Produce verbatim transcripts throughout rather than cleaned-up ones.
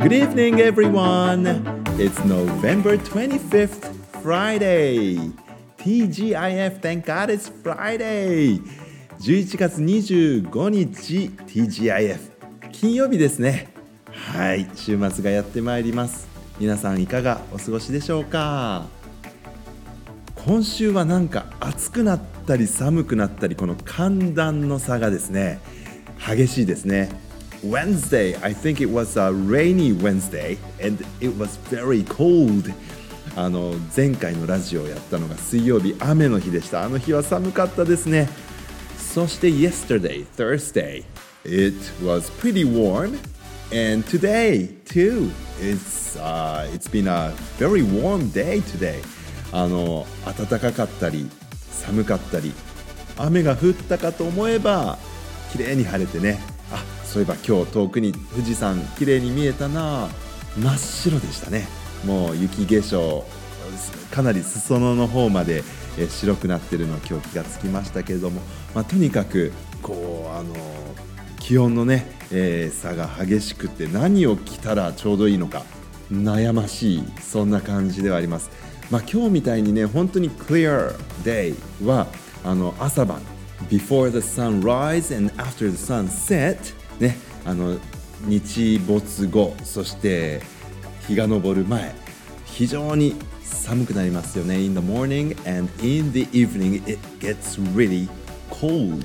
Good evening, everyone. It's November twenty-fifth, Friday. ティージーアイエフ, thank God it's Friday. じゅういちがつにじゅうごにち ティージーアイエフ 金曜日ですね。はい、週末がやってまいります。皆さんいかがお過ごしでしょうか。今週はなんか暑くなったり寒くなったり、この寒暖の差がですね激しいですね。Wednesday, I think it was a rainy Wednesday and it was very cold. あの前回のラジオをやったのが水曜日、雨の日でした。あの日は寒かったですね。そして yesterday, Thursday, it was pretty warm and today too. It's, uh, it's been a very warm day today. あの暖かかったり寒かったり、雨が降ったかと思えば綺麗に晴れてね。あ、そういえば今日遠くに富士山綺麗に見えたな。真っ白でしたね。もう雪化粧、かなり裾野の方まで白くなってるのを今日気がつきましたけれども、まあ、とにかくこうあの気温のね、えー、差が激しくて、何を着たらちょうどいいのか悩ましい、そんな感じではあります。まあ、今日みたいにね本当に clear day はあの朝晩 before the sun rise and after the sun set ね、あの日没後、そして日が昇る前、非常に寒くなりますよね。 In the morning and in the evening it gets really cold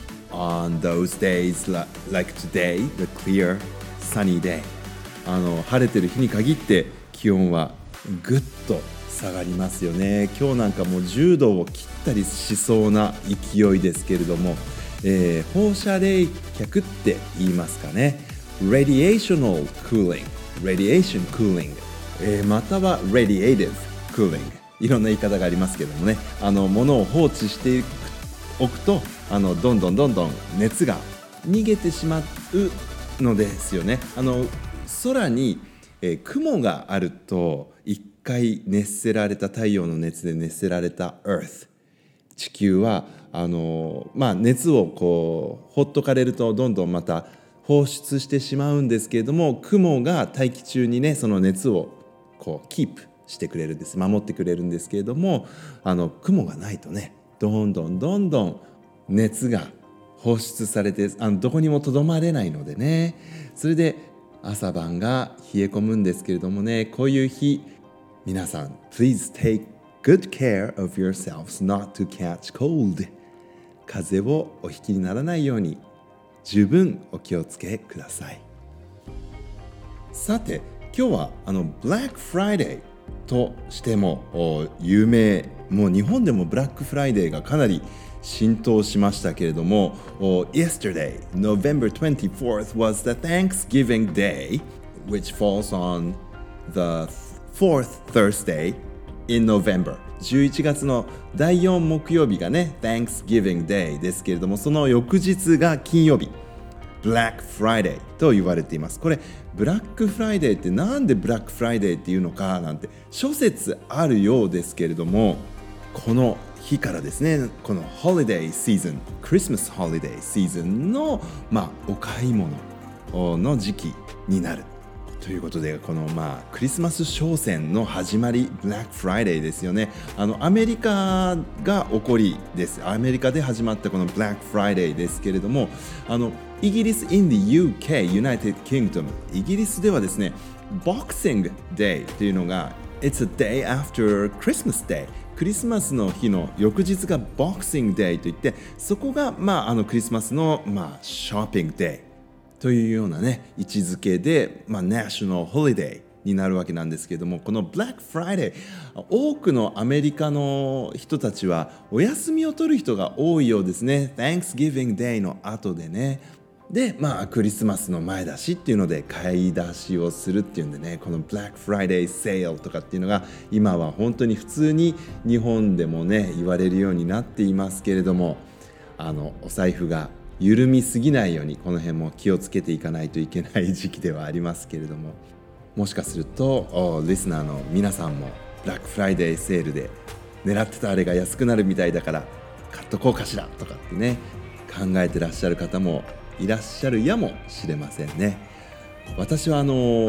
on those days like today, the clear sunny day. あの晴れてる日に限って気温はぐっと下がりますよね。今日なんかもうじゅうどを切ったりしそうな勢いですけれども、えー、放射冷却って言いますかね。 Radiational cooling, radiation cooling、えー、または radiative cooling、 いろんな言い方がありますけどもね、あの物を放置しておくとあのどんどんどんどん熱が逃げてしまうのですよね。あの空に、えー、雲があると一回熱せられた、太陽の熱で熱せられた Earth、 地球はあの、まあ、熱をこうほっとかれるとどんどんまた放出してしまうんですけれども、雲が大気中にねその熱をこうキープしてくれるんです、守ってくれるんですけれども、あの雲がないとねどんどんどんどん熱が放出されて、あのどこにもとどまれないのでね、それで朝晩が冷え込むんですけれどもね、こういう日皆さん Please take good care of yourselves not to catch cold。 風邪をお引きにならないように十分お気をつけください。さて今日はあの Black Friday としても有名、もう日本でもブラックフライデーがかなり浸透しましたけれども、 Yesterday, November twenty-fourth was the Thanksgiving Day, which falls on the fourth Thursday in November。 じゅういちがつのだいよん木曜日がね Thanksgiving Day ですけれども、その翌日が金曜日 Black Friday と言われています。これブラックフライデーってなんでブラックフライデーっていうのかなんて諸説あるようですけれども、この日からですね、この Holiday Season、 Christmas Holiday Season の、まあ、お買い物の時期になるということで、このまあクリスマス商戦の始まり Black Friday ですよね。あのアメリカが起こりです。アメリカで始まったこの Black Friday ですけれども、あのイギリス in the ユーケー United Kingdom、 イギリスではですね Boxing Day というのが It's a day after Christmas Day、クリスマスの日の翌日が Boxing Day といって、そこがまああのクリスマスのまあショッピングデーというようなね位置づけで、まあ、ナショナルホリデーになるわけなんですけれども、この Black Friday、 多くのアメリカの人たちはお休みを取る人が多いようですね。 Thanksgiving Day の後でね、でまあクリスマスの前だしっていうので買い出しをするっていうんでね、この Black Friday Sale とかっていうのが今は本当に普通に日本でもね言われるようになっていますけれども、あのお財布が緩みすぎないようにこの辺も気をつけていかないといけない時期ではありますけれども、もしかするとリスナーの皆さんもブラックフライデーセールで狙ってたあれが安くなるみたいだから買っとこうかしらとかってね考えてらっしゃる方もいらっしゃるやもしれませんね。私はあの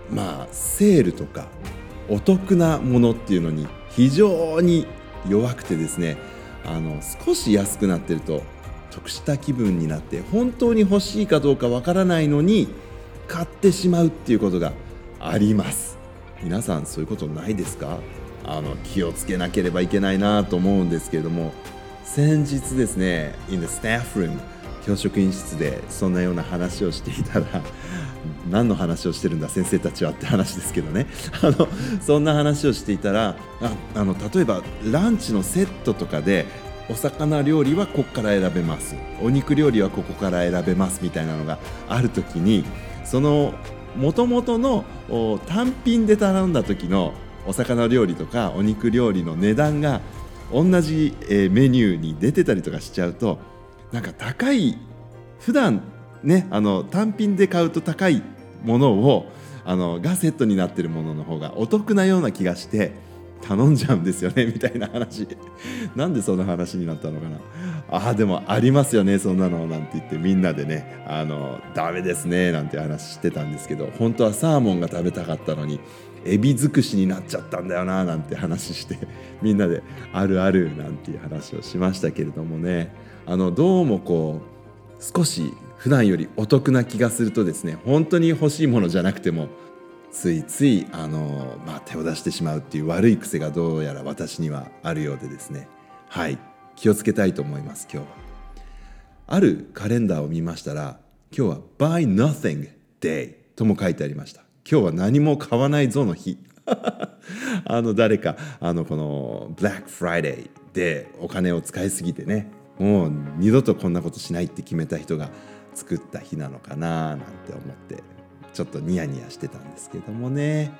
まあセールとかお得なものっていうのに非常に弱くてですね、あの少し安くなってると得した気分になって本当に欲しいかどうかわからないのに買ってしまうっていうことがあります。皆さんそういうことないですか？あの気をつけなければいけないなと思うんですけれども、先日ですね in the staff room 教職員室でそんなような話をしていたら何の話をしてるんだ先生たちはって話ですけどねあのそんな話をしていたらああの例えばランチのセットとかでお魚料理はここから選べます、お肉料理はここから選べますみたいなのがあるときに、その元々の単品で頼んだ時のお魚料理とかお肉料理の値段が同じメニューに出てたりとかしちゃうと、なんか高い普段ねあの単品で買うと高いものをあのがセットになっているものの方がお得なような気がして頼んじゃうんですよねみたいな話なんでそんな話になったのかな。ああでもありますよねそんなのなんて言ってみんなでねあのダメですねなんて話してたんですけど、本当はサーモンが食べたかったのにエビ尽くしになっちゃったんだよななんて話してみんなであるあるなんていう話をしましたけれどもね、あのどうもこう少し普段よりお得な気がするとですね、本当に欲しいものじゃなくてもついついあの、まあ、手を出してしまうっていう悪い癖がどうやら私にはあるようでですね、はい気をつけたいと思います。今日はあるカレンダーを見ましたら、今日は Buy Nothing Day とも書いてありました。今日は何も買わないぞの日あの誰かあのこの Black Friday でお金を使いすぎてね、もう二度とこんなことしないって決めた人が作った日なのかななんて思ってちょっとニヤニヤしてたんですけどもね、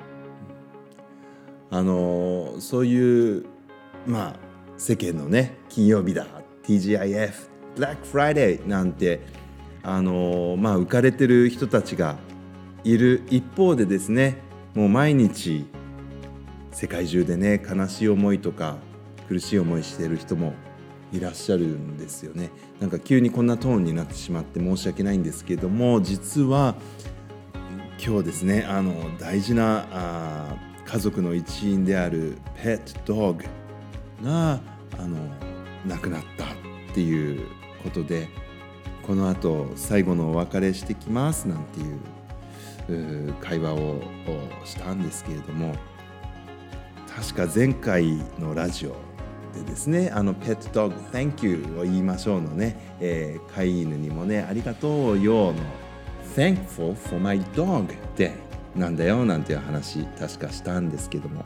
あのそういうまあ世間のね金曜日だ ティージーアイエフ Black Friday なんてあのまあ浮かれてる人たちがいる一方でですね、もう毎日世界中でね悲しい思いとか苦しい思いしている人もいらっしゃるんですよね。なんか急にこんなトーンになってしまって申し訳ないんですけども、実は今日ですねあの大事なあ家族の一員であるペットドッグがあの亡くなったっていうことで、この後最後のお別れしてきますなんていう会話をしたんですけれども、確か前回のラジオでですね、あのペットドッグ Thank you を言いましょうのね、えー、飼い犬にもねありがとうよの Thankful for my dog day なんだよなんていう話確かしたんですけども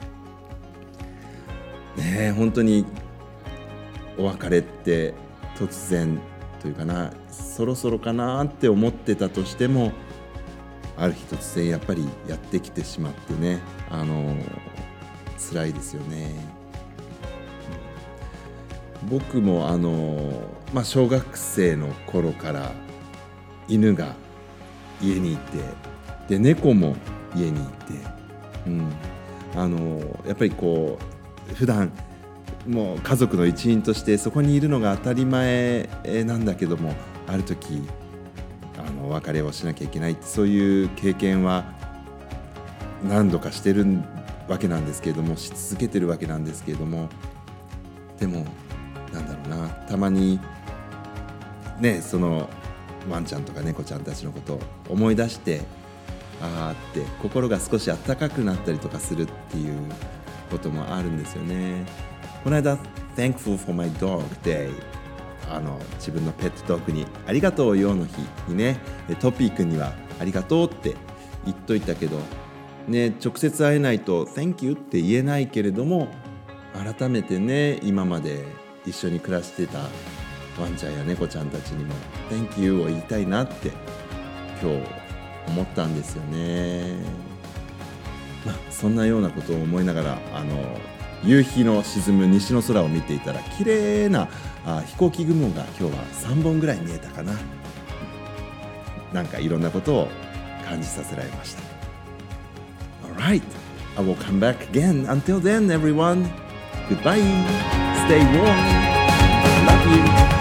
ね、本当にお別れって突然というかな、そろそろかなって思ってたとしてもある日突然やっぱりやってきてしまってね、あの辛いですよね。僕もあの、まあ、小学生の頃から犬が家にいて、で猫も家にいて、うん、あのやっぱりこう普段もう家族の一員としてそこにいるのが当たり前なんだけども、ある時あのお別れをしなきゃいけないって、そういう経験は何度かしてるわけなんですけれども、し続けてるわけなんですけれども、でもなんだろうな、たまにねそのワンちゃんとか猫ちゃんたちのことを思い出して、あーって心が少し温かくなったりとかするっていうこともあるんですよね。この間 Thankful for my dog day、 あの自分のペットドッグにありがとうよの日にね、トピー君にはありがとうって言っといたけどね、直接会えないと Thank you って言えないけれども、改めてね今まで一緒に暮らしてたワンちゃんや猫ちゃんたちにも Thank you を言いたいなって今日思ったんですよね。まあ、そんなようなことを思いながらあの夕日の沈む西の空を見ていたら、綺麗なあ飛行機雲が今日はさんぼんぐらい見えたかな。なんかいろんなことを感じさせられました。 Alright, I will come back again. Until then, everyone, goodbye. Stay warm. I love you.